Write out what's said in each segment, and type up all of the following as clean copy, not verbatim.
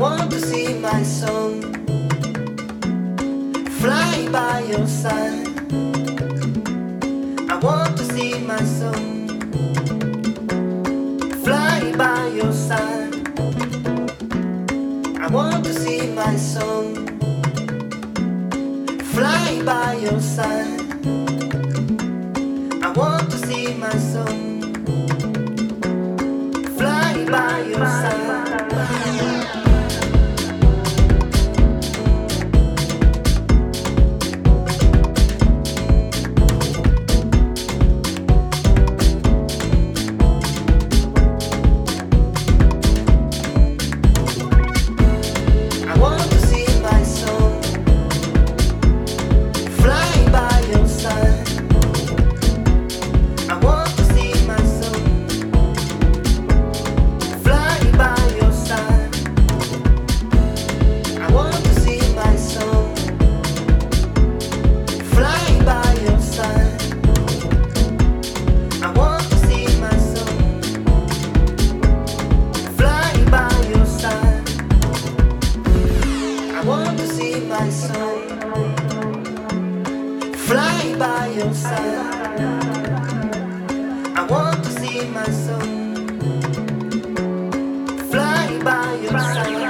want to see my song fly by your side. I want to see my song fly by your side. I want to see my song fly by your side. I want to see my song fly by your side. Fly by your side. I want to see my song fly by your side.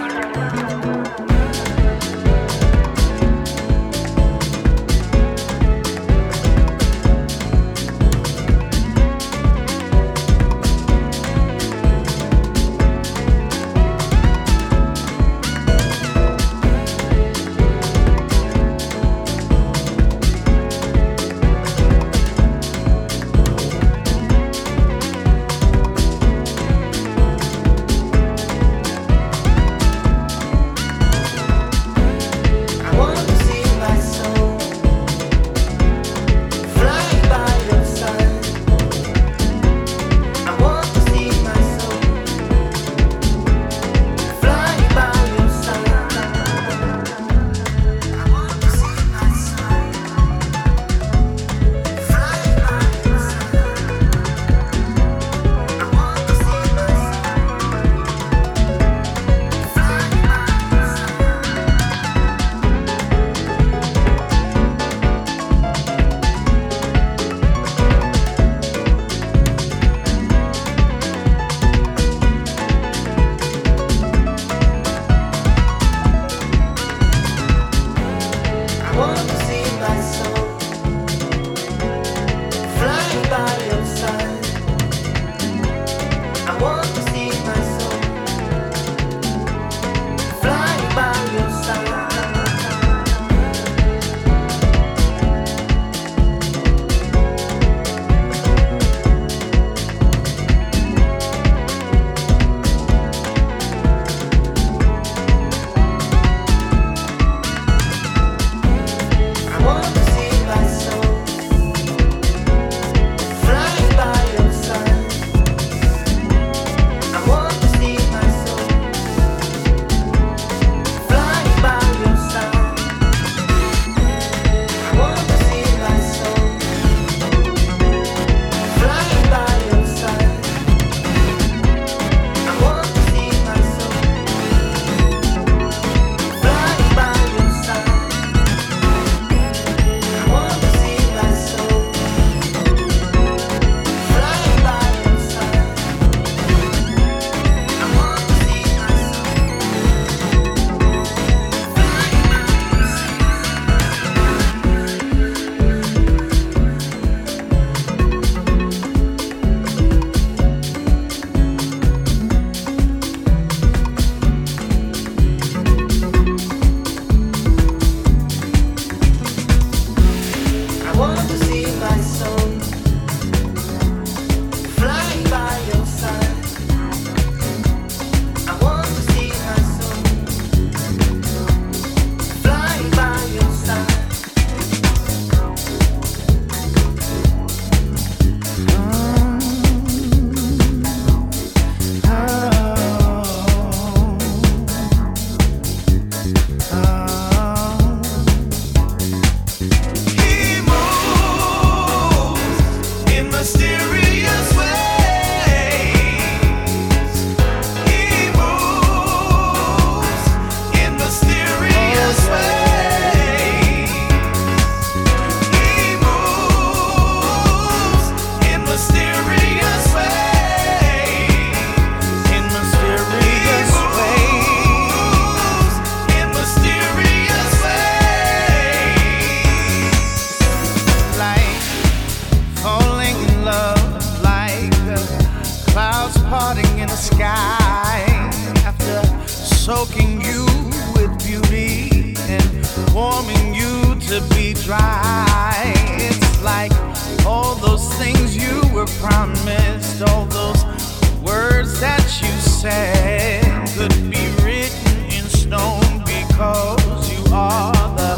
parting in the sky after soaking you with beauty and warming you to be dry. It's like all those things you were promised, all those words that you said could be written in stone because you are the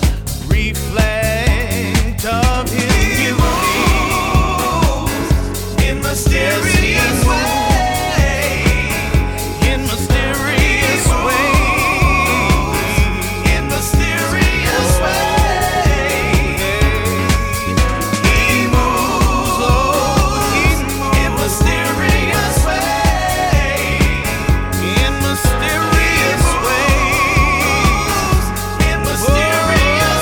reflect of his beauty in mysterious ways, in mysterious ways, in mysterious ways. He moves, oh, he moves in mysterious ways, in mysterious ways, in mysterious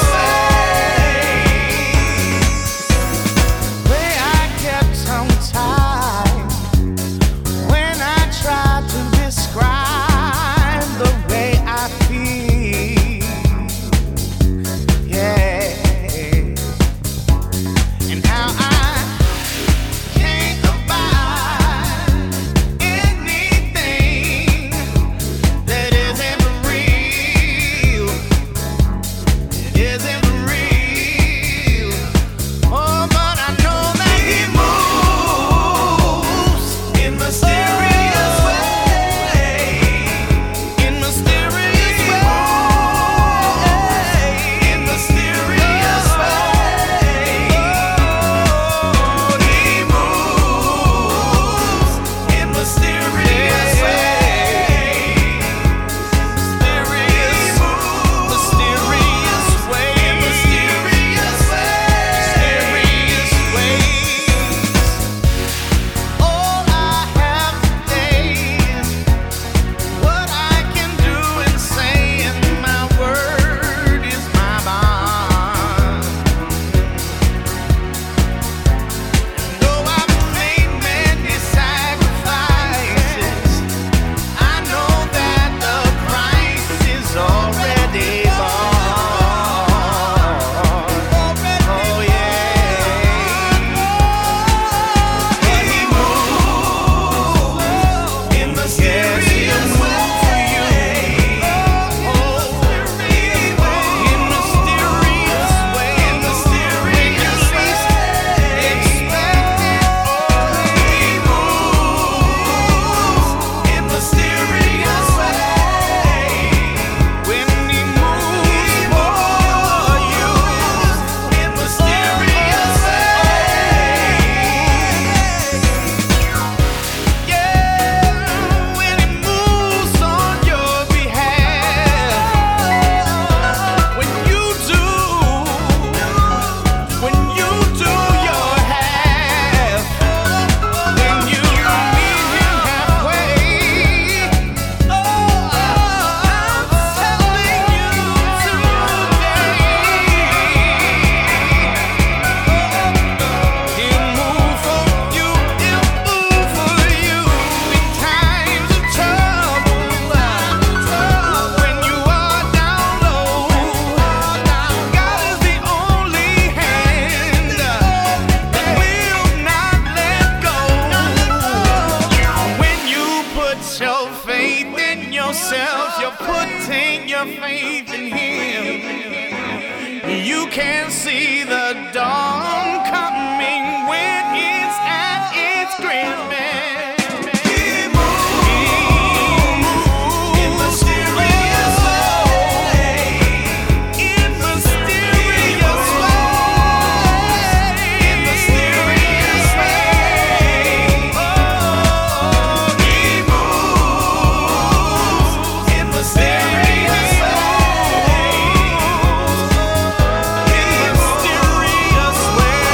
ways. Way I kept some time when I tried to describe the way I feel, yeah, and how I can't abide anything that isn't real, isn't real. Oh, but I know that he moves in mysterious ways, in mysterious ways, in mysterious ways. Oh, he moves in mysterious ways, mysterious, mysterious ways, mysterious ways. All I have today is what I can do and say, and my word is my bond. Though I've made many sacrifices, I know that the price is already bought. Oh yeah, but he moves in mysterious ways. Oh, in mysterious ways, when you least expect it. Oh, he moves in mysterious ways. When he moves for you in mysterious ways. Yeah, when he moves on your behalf, when you do your half, when you meet him halfway. Oh, I'm telling you today, he'll move for you, he'll move for you in times of trouble, when you are down low. God is the only hand that will not let go. When you put your faith in yourself, you're putting your faith in him. You can see the dawn coming when it's at its grandest. He moves in mysterious ways, in mysterious ways, in mysterious ways. Oh, he moves in mysterious ways, in mysterious ways.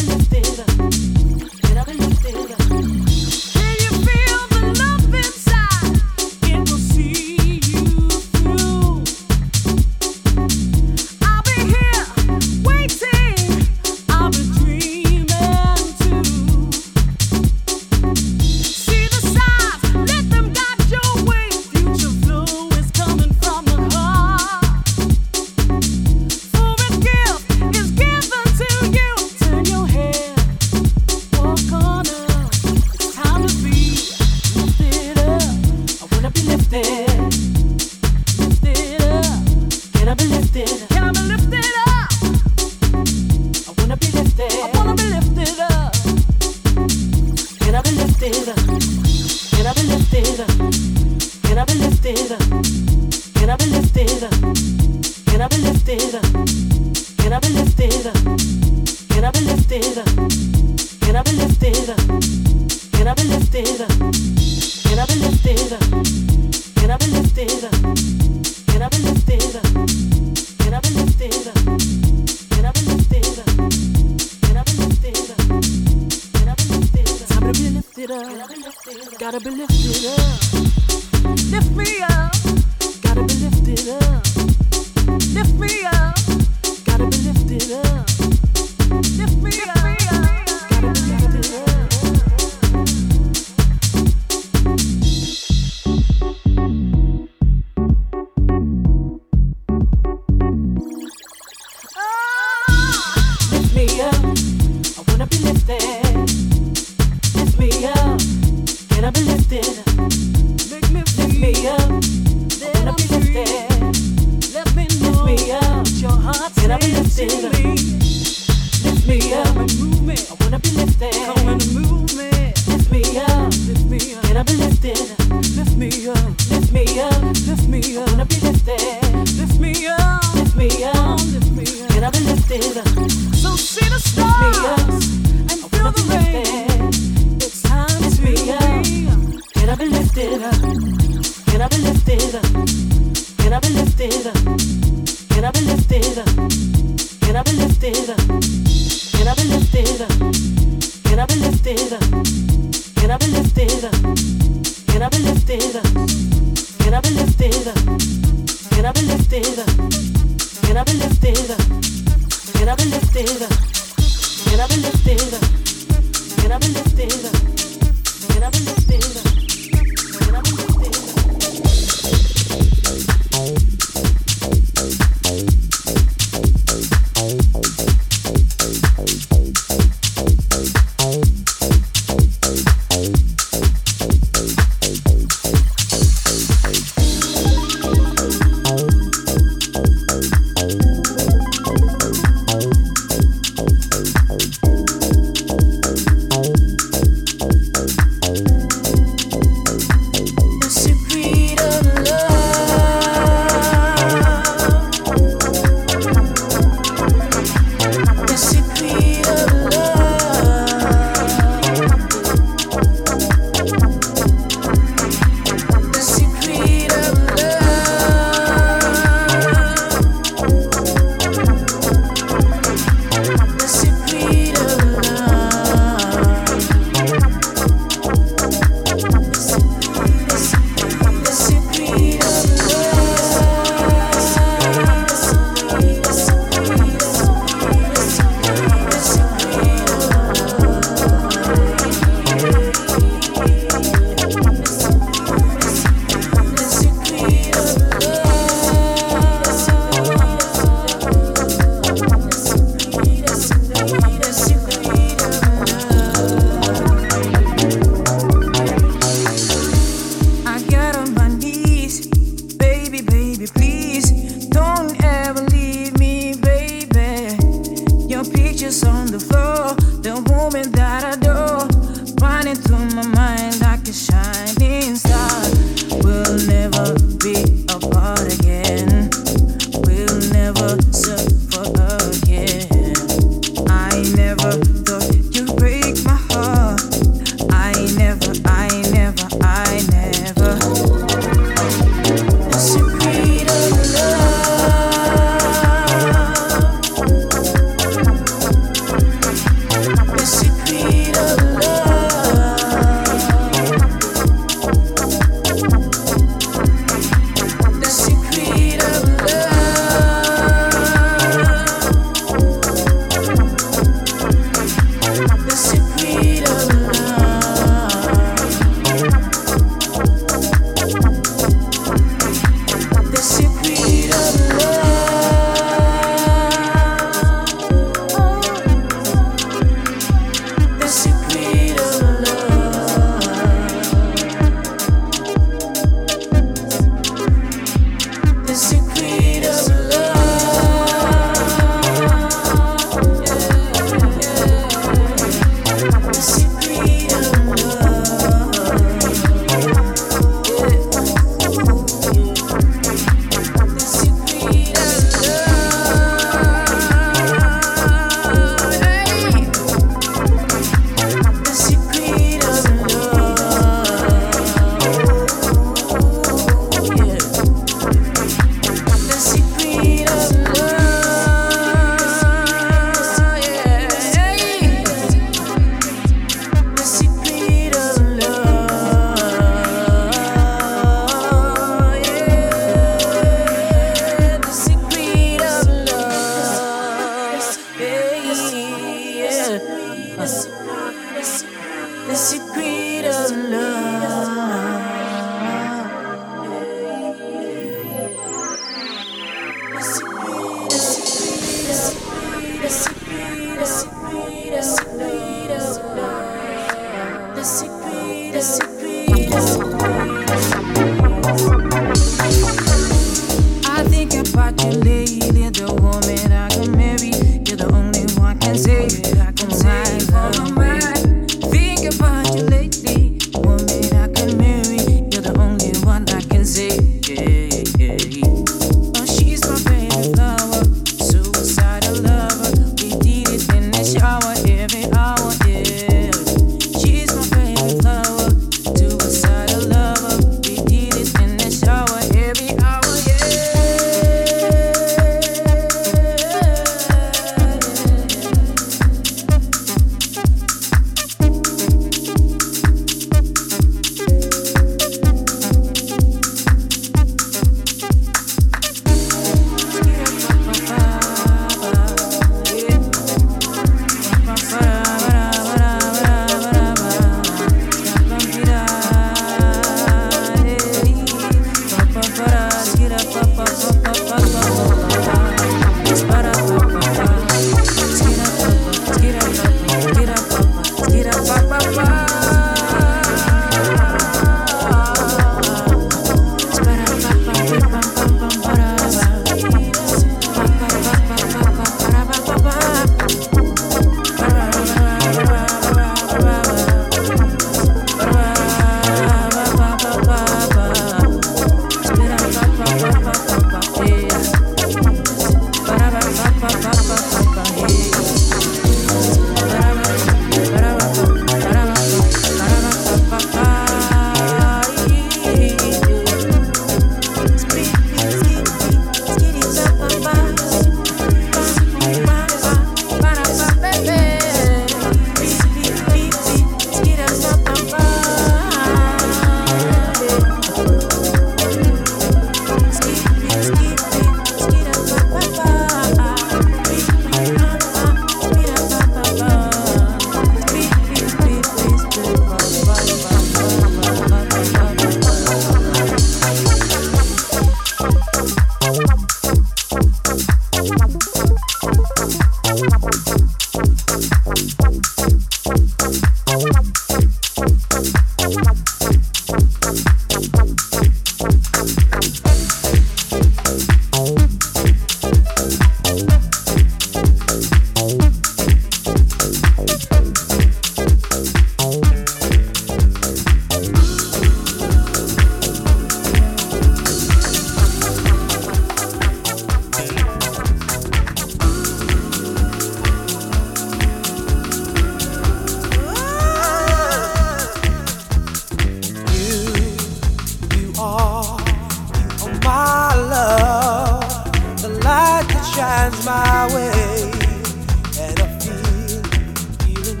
shines my way, and I feeling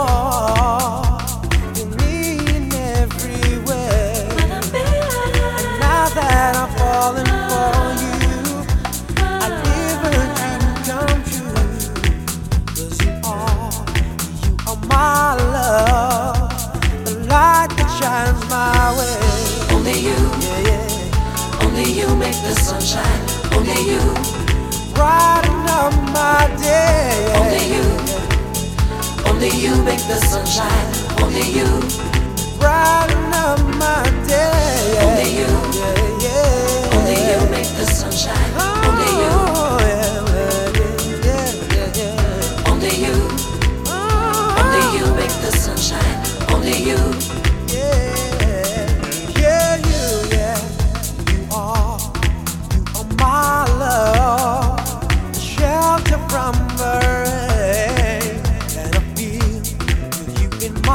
you're in everywhere. And now that I'm falling for you, I live a dream come true. 'Cause you are my love, the light that shines my way. Only you, Yeah, yeah. only you make the sunshine. Only you, Brighten up my day. only you make the sunshine. Only you, Brighten up my day. only you, Yeah, yeah. only you make the sunshine. Only you, Oh, yeah, yeah. only you, only you make the sunshine. Only you, Yeah, you are my love, shelter from the rain, and I feel with you in my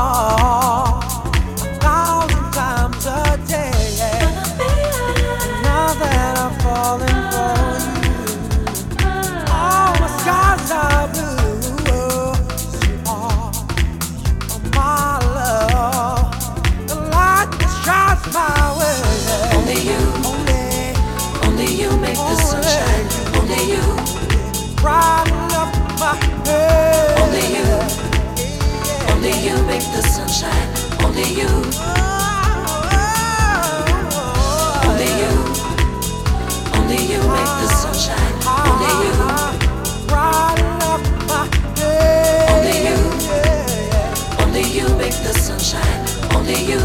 arms 1,000 times a day. Now that I'm falling for you, all the skies are blue. You are my love, the light that shines my way. only you, only you make the sunshine. Only you, Brighten up my head. only you make the sunshine. Only you, only you, only you make the sunshine. Only you, Brighten up my head. only you, only you make the sunshine. Only you.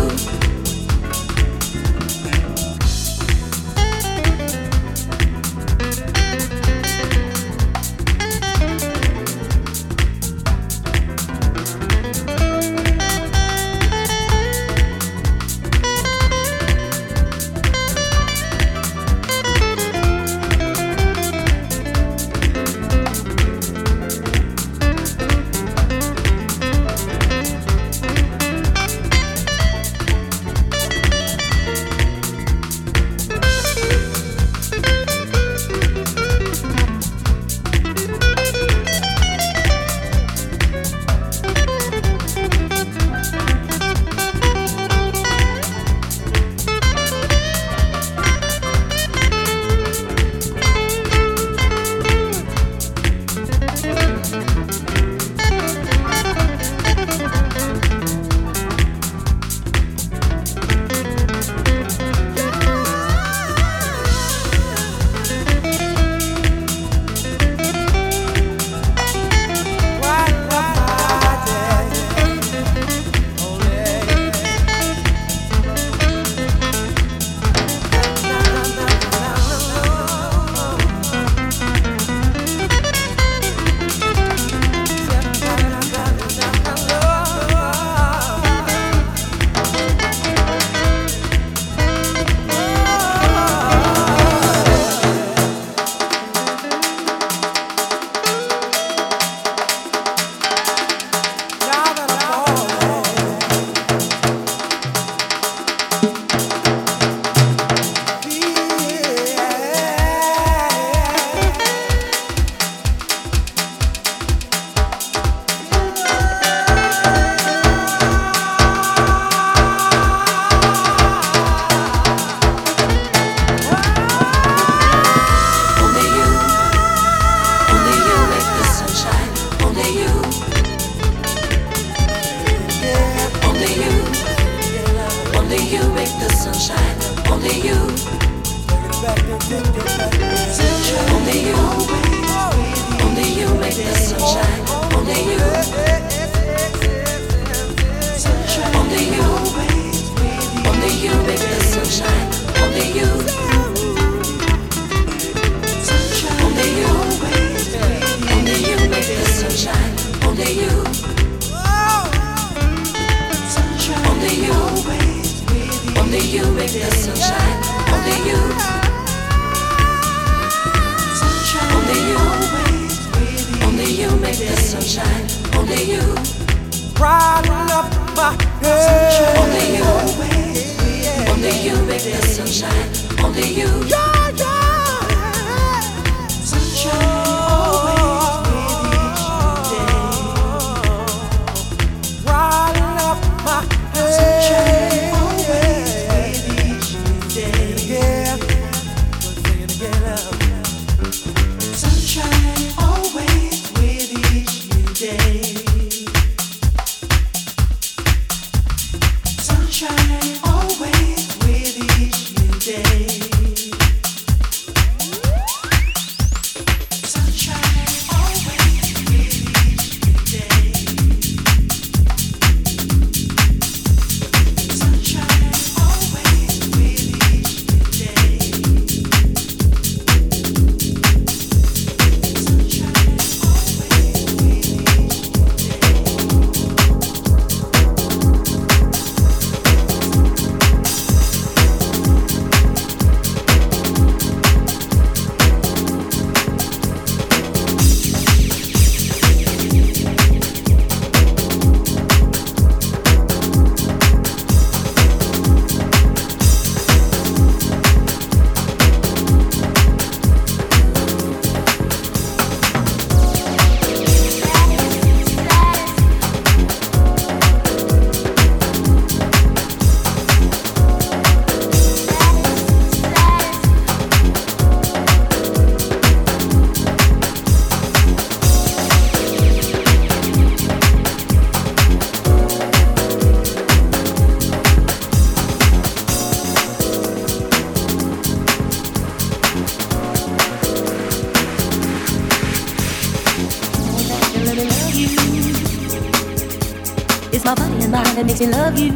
It's my body and mind that makes me love you.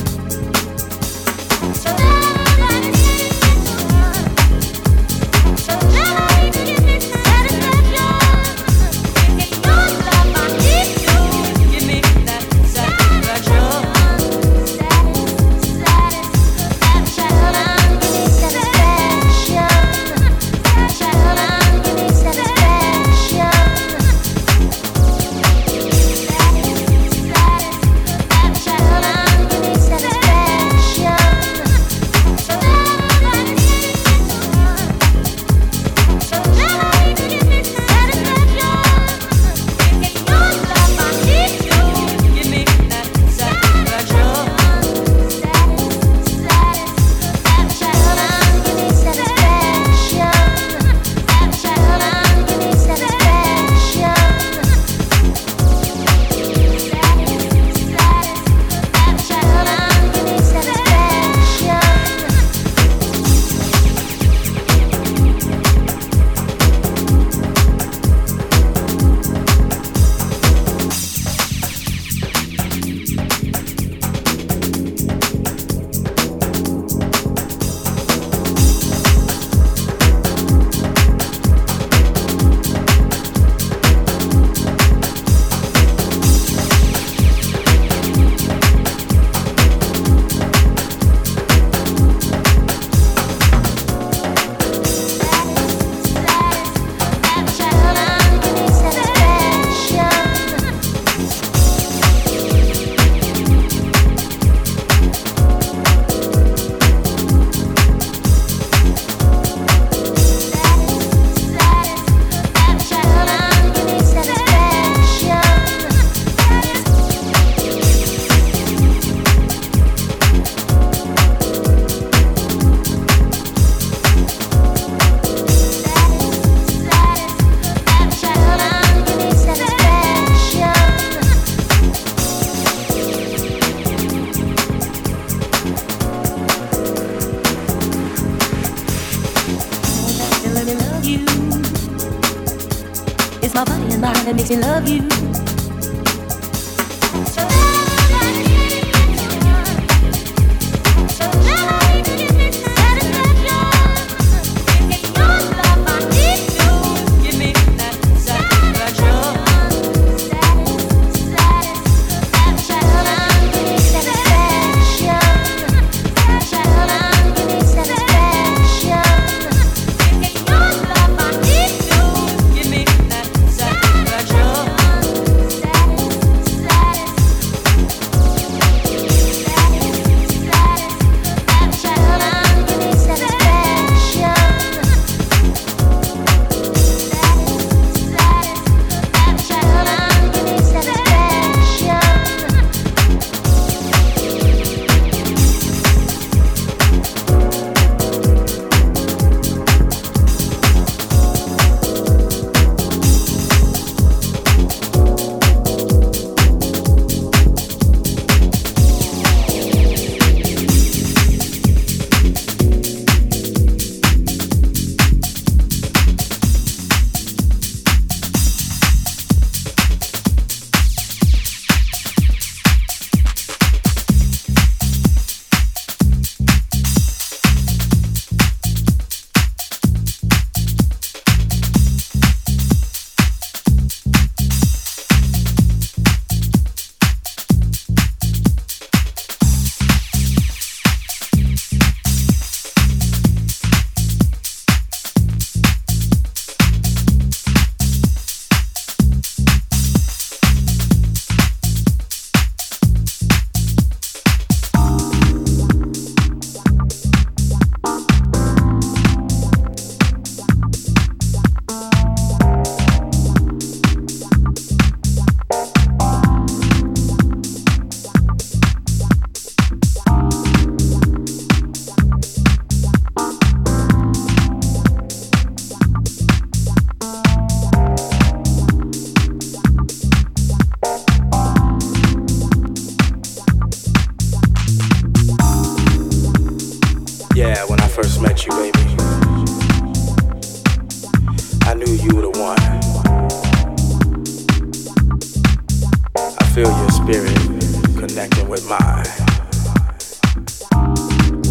That makes me love you.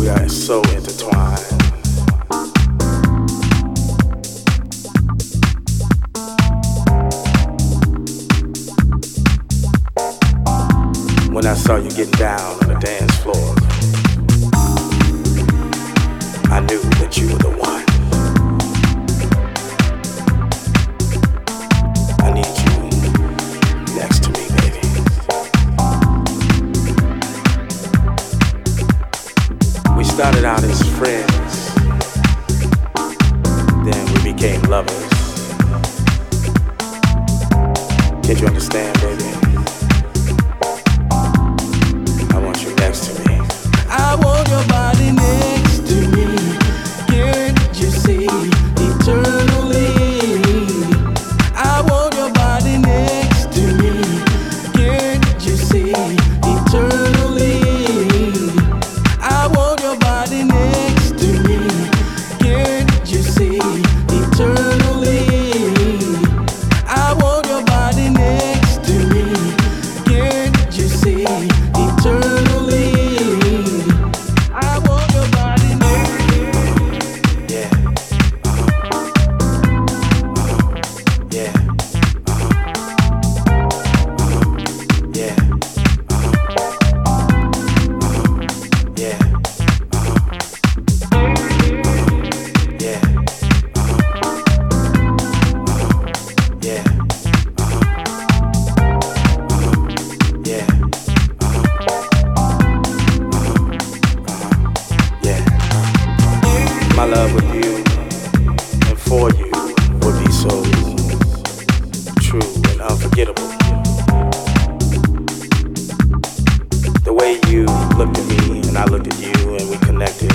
are so intertwined. When I saw you getting down on the dance floor, I knew that you were the one. I need you next to me, baby. We started out as friends, then we became lovers. Can't you understand, baby? I want you next to me. I want your body next to me. Can't you see eternally? I want your body next to me. Can't you see eternally? I want your body next to me. Can't you see eternally? I want your body next to me. Can't you see eternally? I want your body next to me. Yeah. Yeah. Yeah. Yeah. Yeah. Yeah. Yeah. Yeah. My love with you and for you would be so true and unforgettable. The way you looked at me and I looked at you and we connected,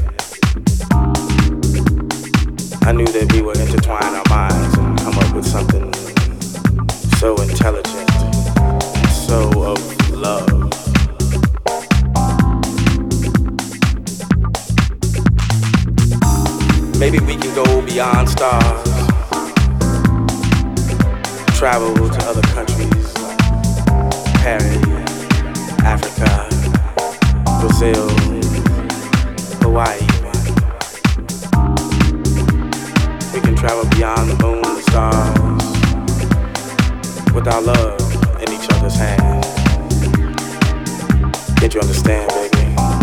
I knew that we would intertwine our minds and come up with something so intelligent and so of love. Maybe we can go beyond stars, travel to other countries like Paris, Africa, Brazil, Hawaii. We can travel beyond the moon, the stars, with our love in each other's hands. Can't you understand, baby?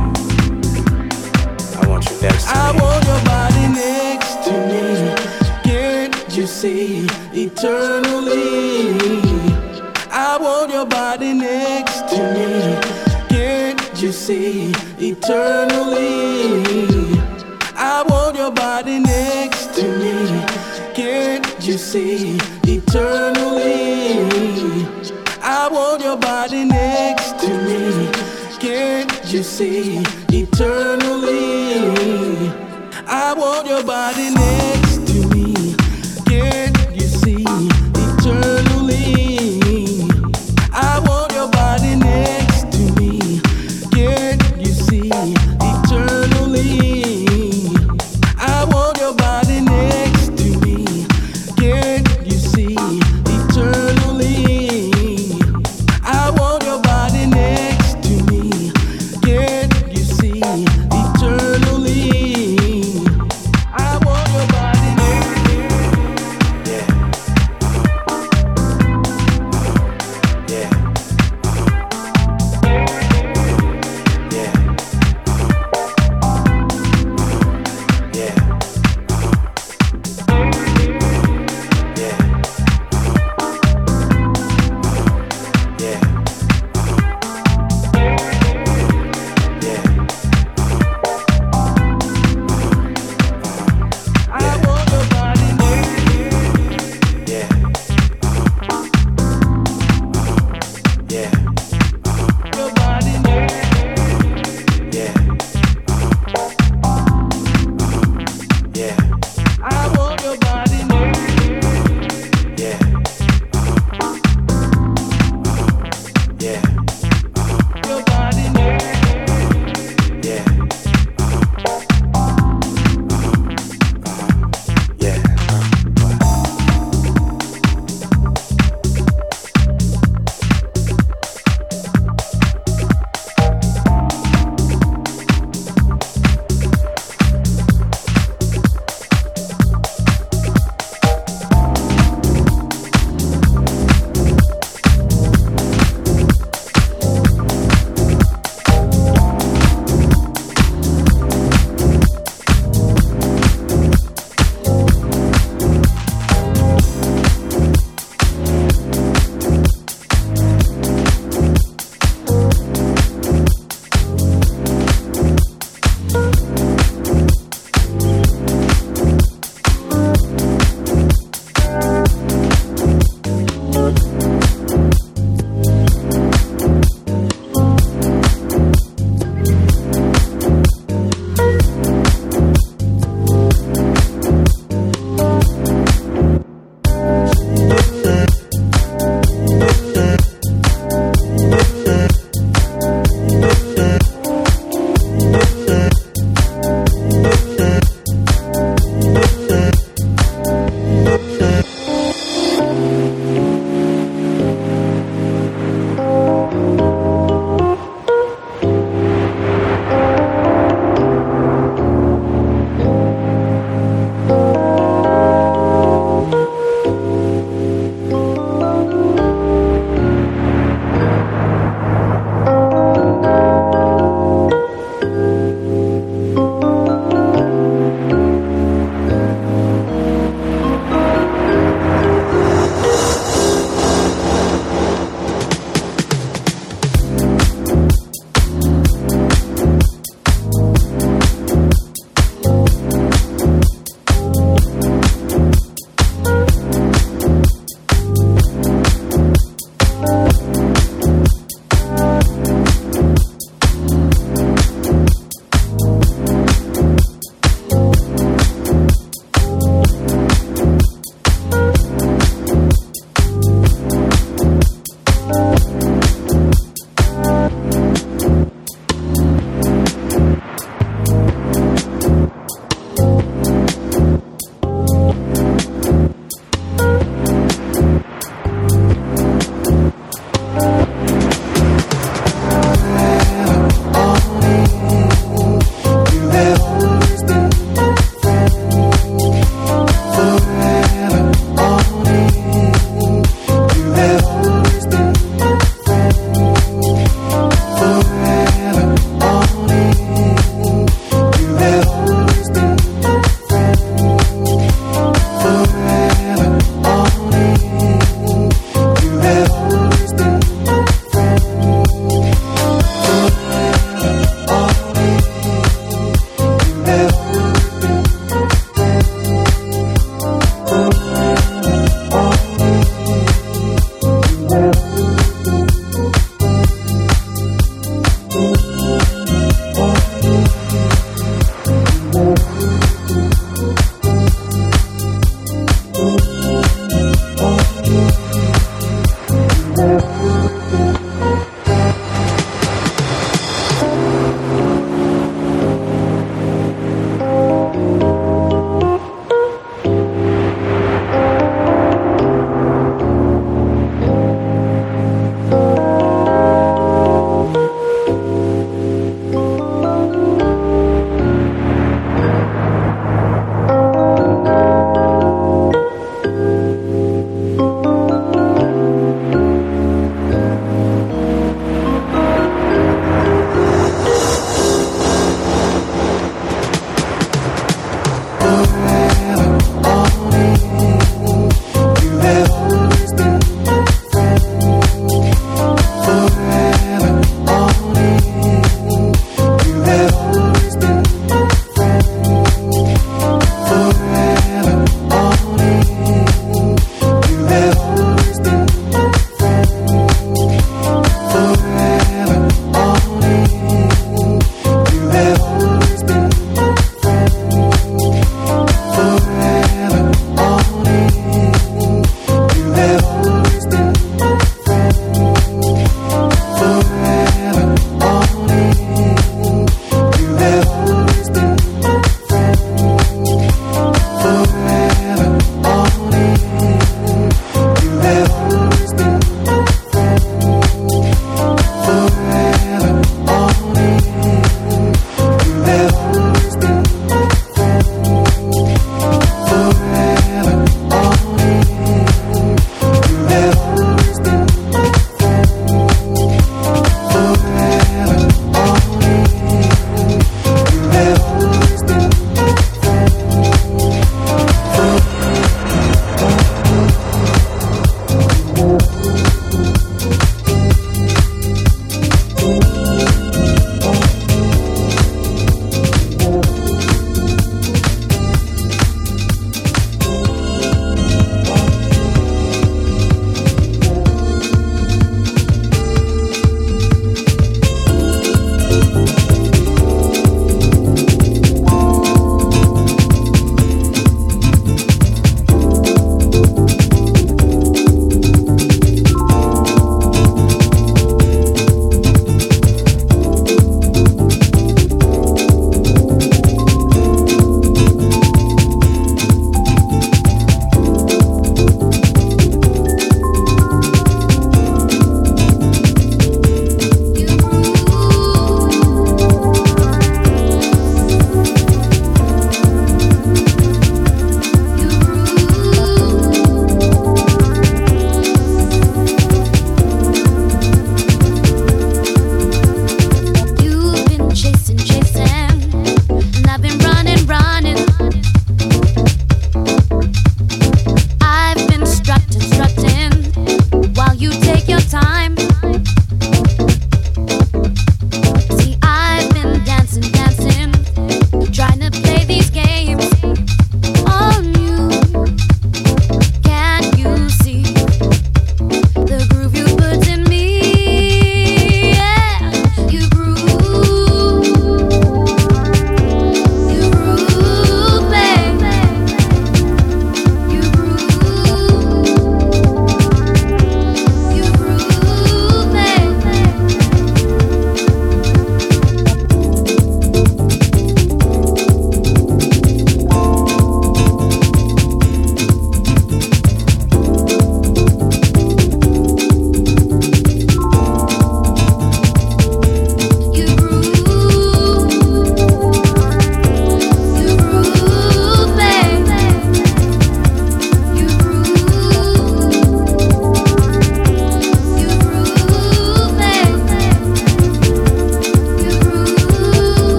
I want you next to me. I want your body next to me. Can't you see eternally? I want your body next to me. Can't you see eternally? I want your body next to me. Can't you see eternally? I want your body next to me. Can't you see eternally? I want your body next to me. Can't you see eternally? I want your body next to me. Can't you see eternally? I want your body next to me. Can't you see eternally? I want your body next to me. Can't you see eternally? I want your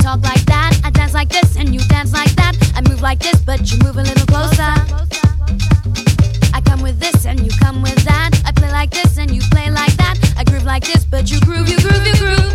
talk like that. I dance like this and you dance like that. I move like this, but you move a little closer. I come with this and you come with that. I play like this and you play like that. I groove like this, but you groove, you groove, you groove.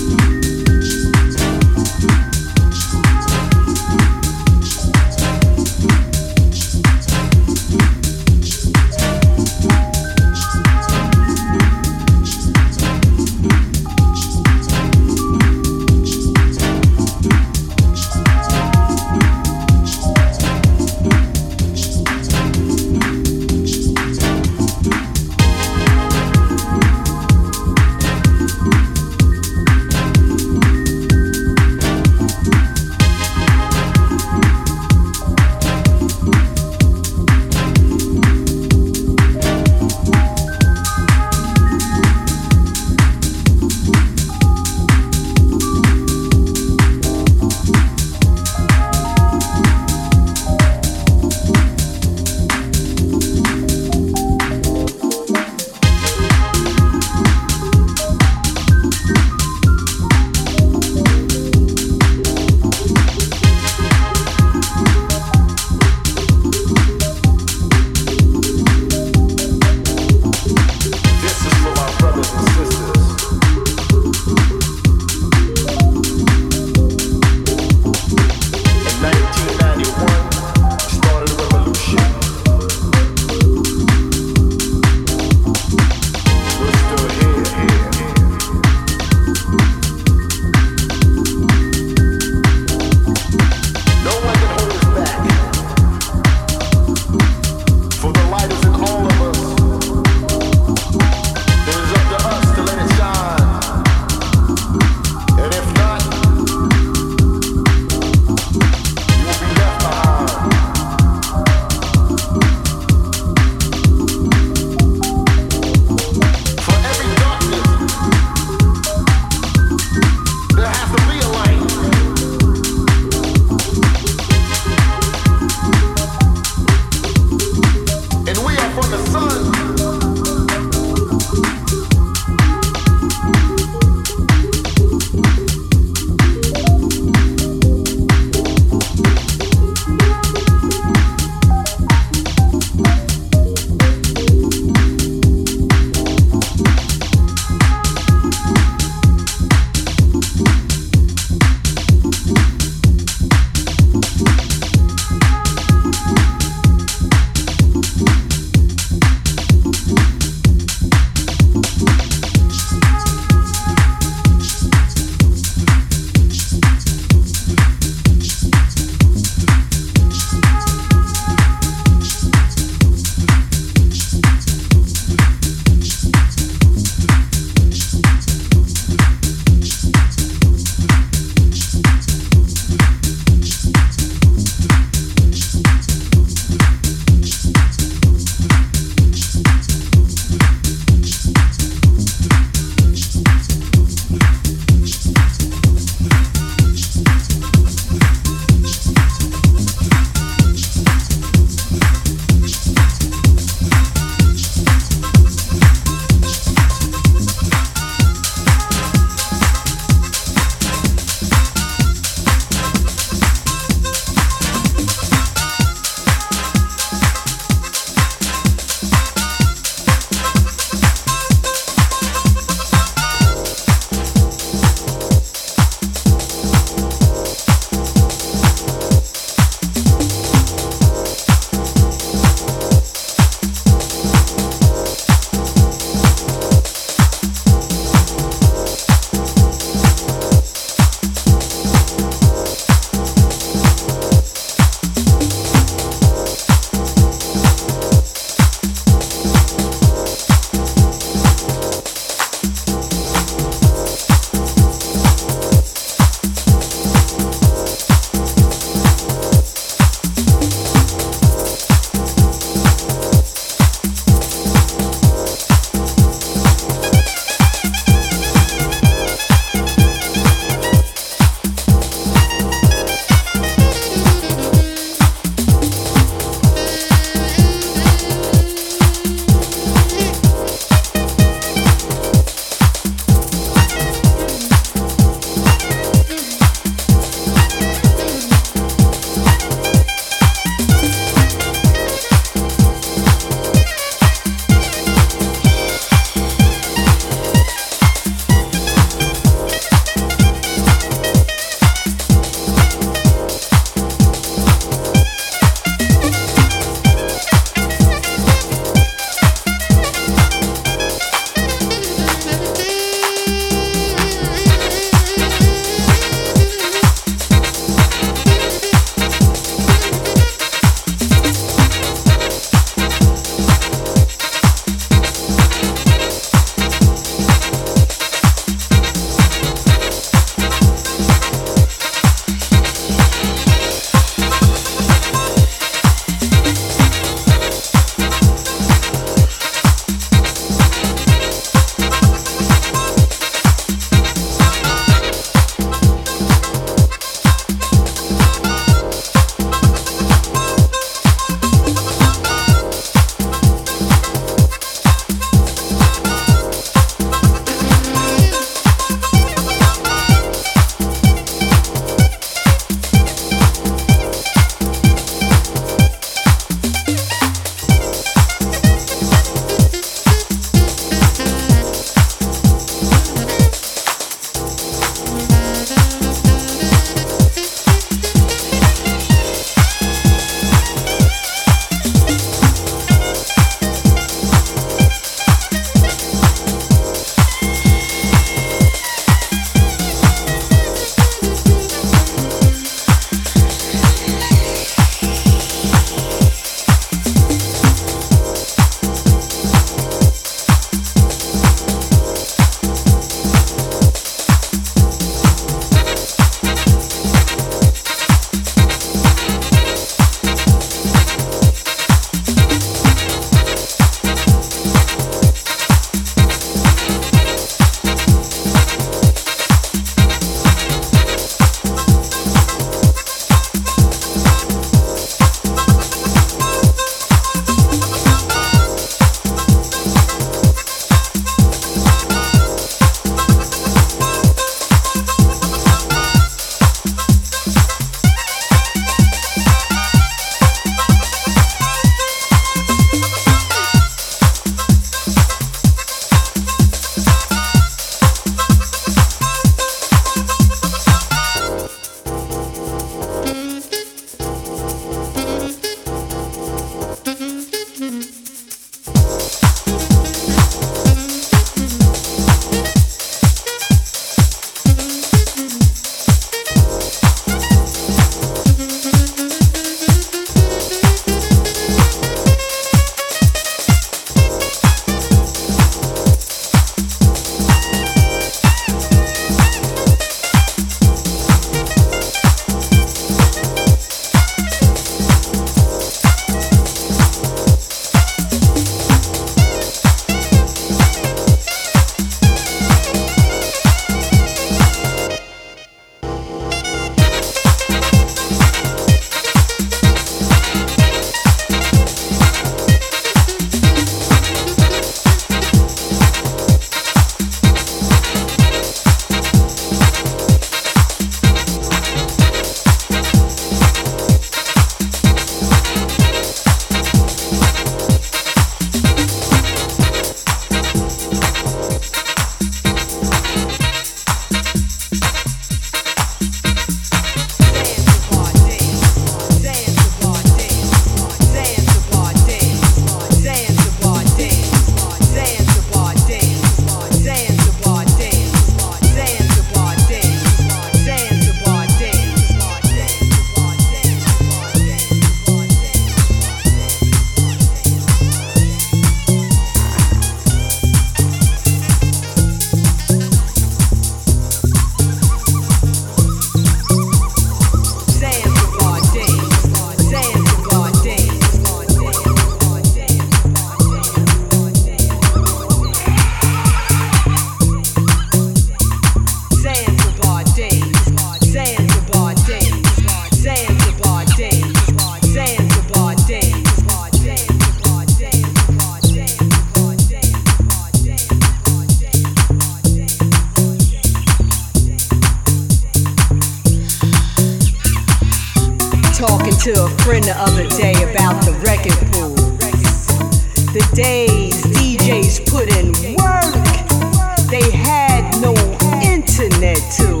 to a friend the other day about the record pool. The days DJs put in work, they had no internet too.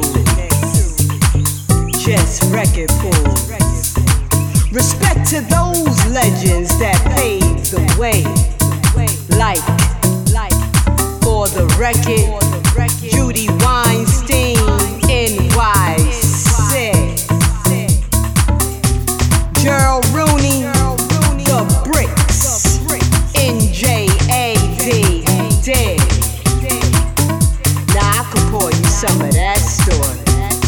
Just record pools. Respect to those legends that paved the way. Like for the record, Judy Weinstein, NYC. Gerald Rooney, The Bricks, NJAD, dead. Now I could pour you some of that story.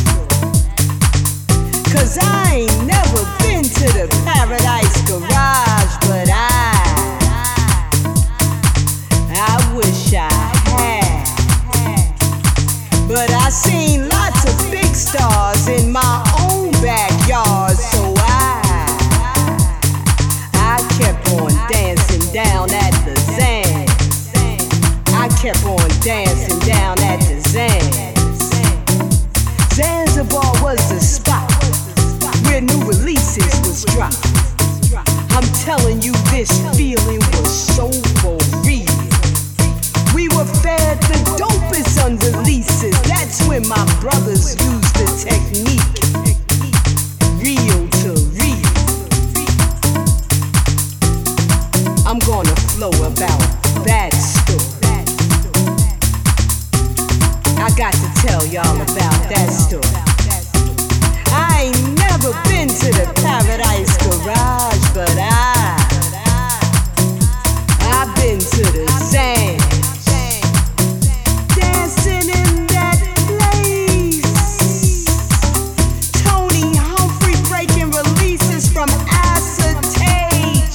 'Cause I ain't never been to the Paradise Garage, but I wish I had. But I seen lots of big stars in my own backyard, so I kept on dancing down at the Zans. I kept on dancing down at the Zans. Zanzibar was the spot where new releases was dropped. I'm telling you, this feeling was so for real. We were fed the dopest unreleases. That's when my brothers used the technique. Real to real. I'm gonna flow about that story. I got to tell y'all about that story. I ain't never been to the Paradise Garage, but I've been to the Zans. Dancing in that place. Tony Humphrey breaking releases from acetate.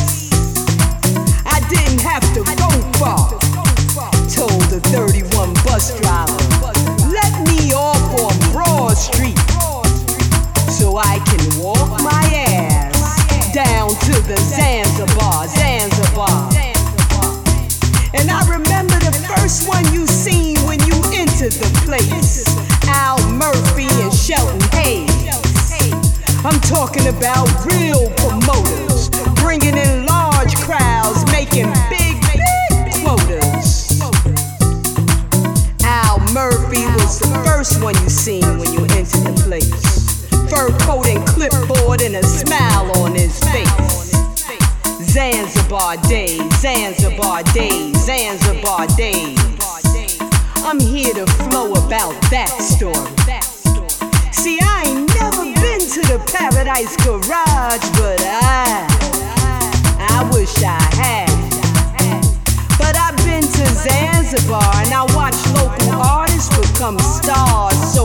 I didn't have to go far. Told the 31 bus driver, let me off on Broad Street so I can walk my ass down to the Zanzibar. And I remember the first one you seen when you entered the place. Al Murphy and Shelton Hayes. I'm talking about real promoters, bringing in large crowds, making big quotas. Al Murphy was the first one you seen when you entered the place. Fur coat and clipboard and a smile on his face. Zanzibar days, Zanzibar days, Zanzibar days. I'm here to flow about that story. See, I ain't never been to the Paradise Garage, but I wish I had. But I've been to Zanzibar and I watched local artists become stars, so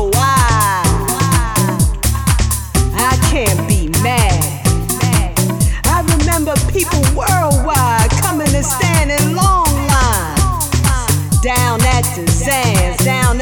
I can't be mad. I remember people worldwide coming to stand in long lines down at the Zans,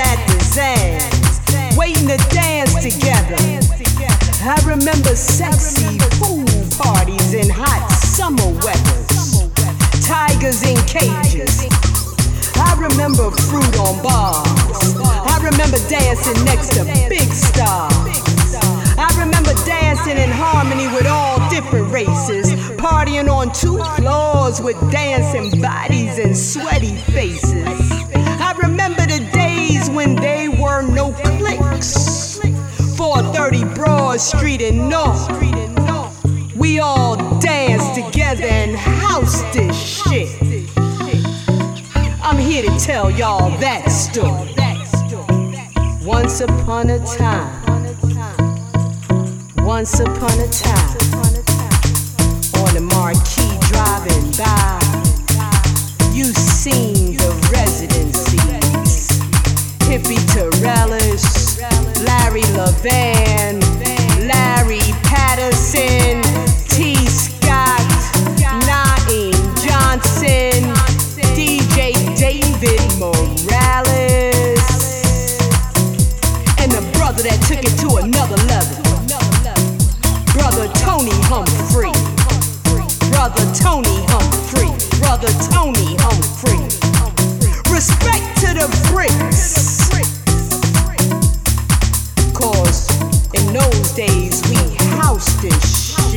waiting to dance together. I remember sexy pool parties in hot summer weathers, tigers in cages. I remember fruit on bars. I remember dancing next to big stars. I remember dancing in harmony with all different races, partying on 2 floors with dancing bodies and sweaty faces. I remember the days when there were no cliques. 430 Broad Street in North. We all danced together and housed this shit. I'm here to tell y'all that story. Once upon a time, on the marquee driving by, you seen the residencies. Hippie Torellis, Larry Levan, Larry Patterson, T. Scott, Naeem Johnson, DJ David Morales, and the brother that took it to another level, Brother Tony Humphrey. Brother Tony Humphrey. Respect to the Bricks. 'Cause in those days we housed this shit.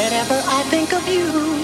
Whenever I think of you,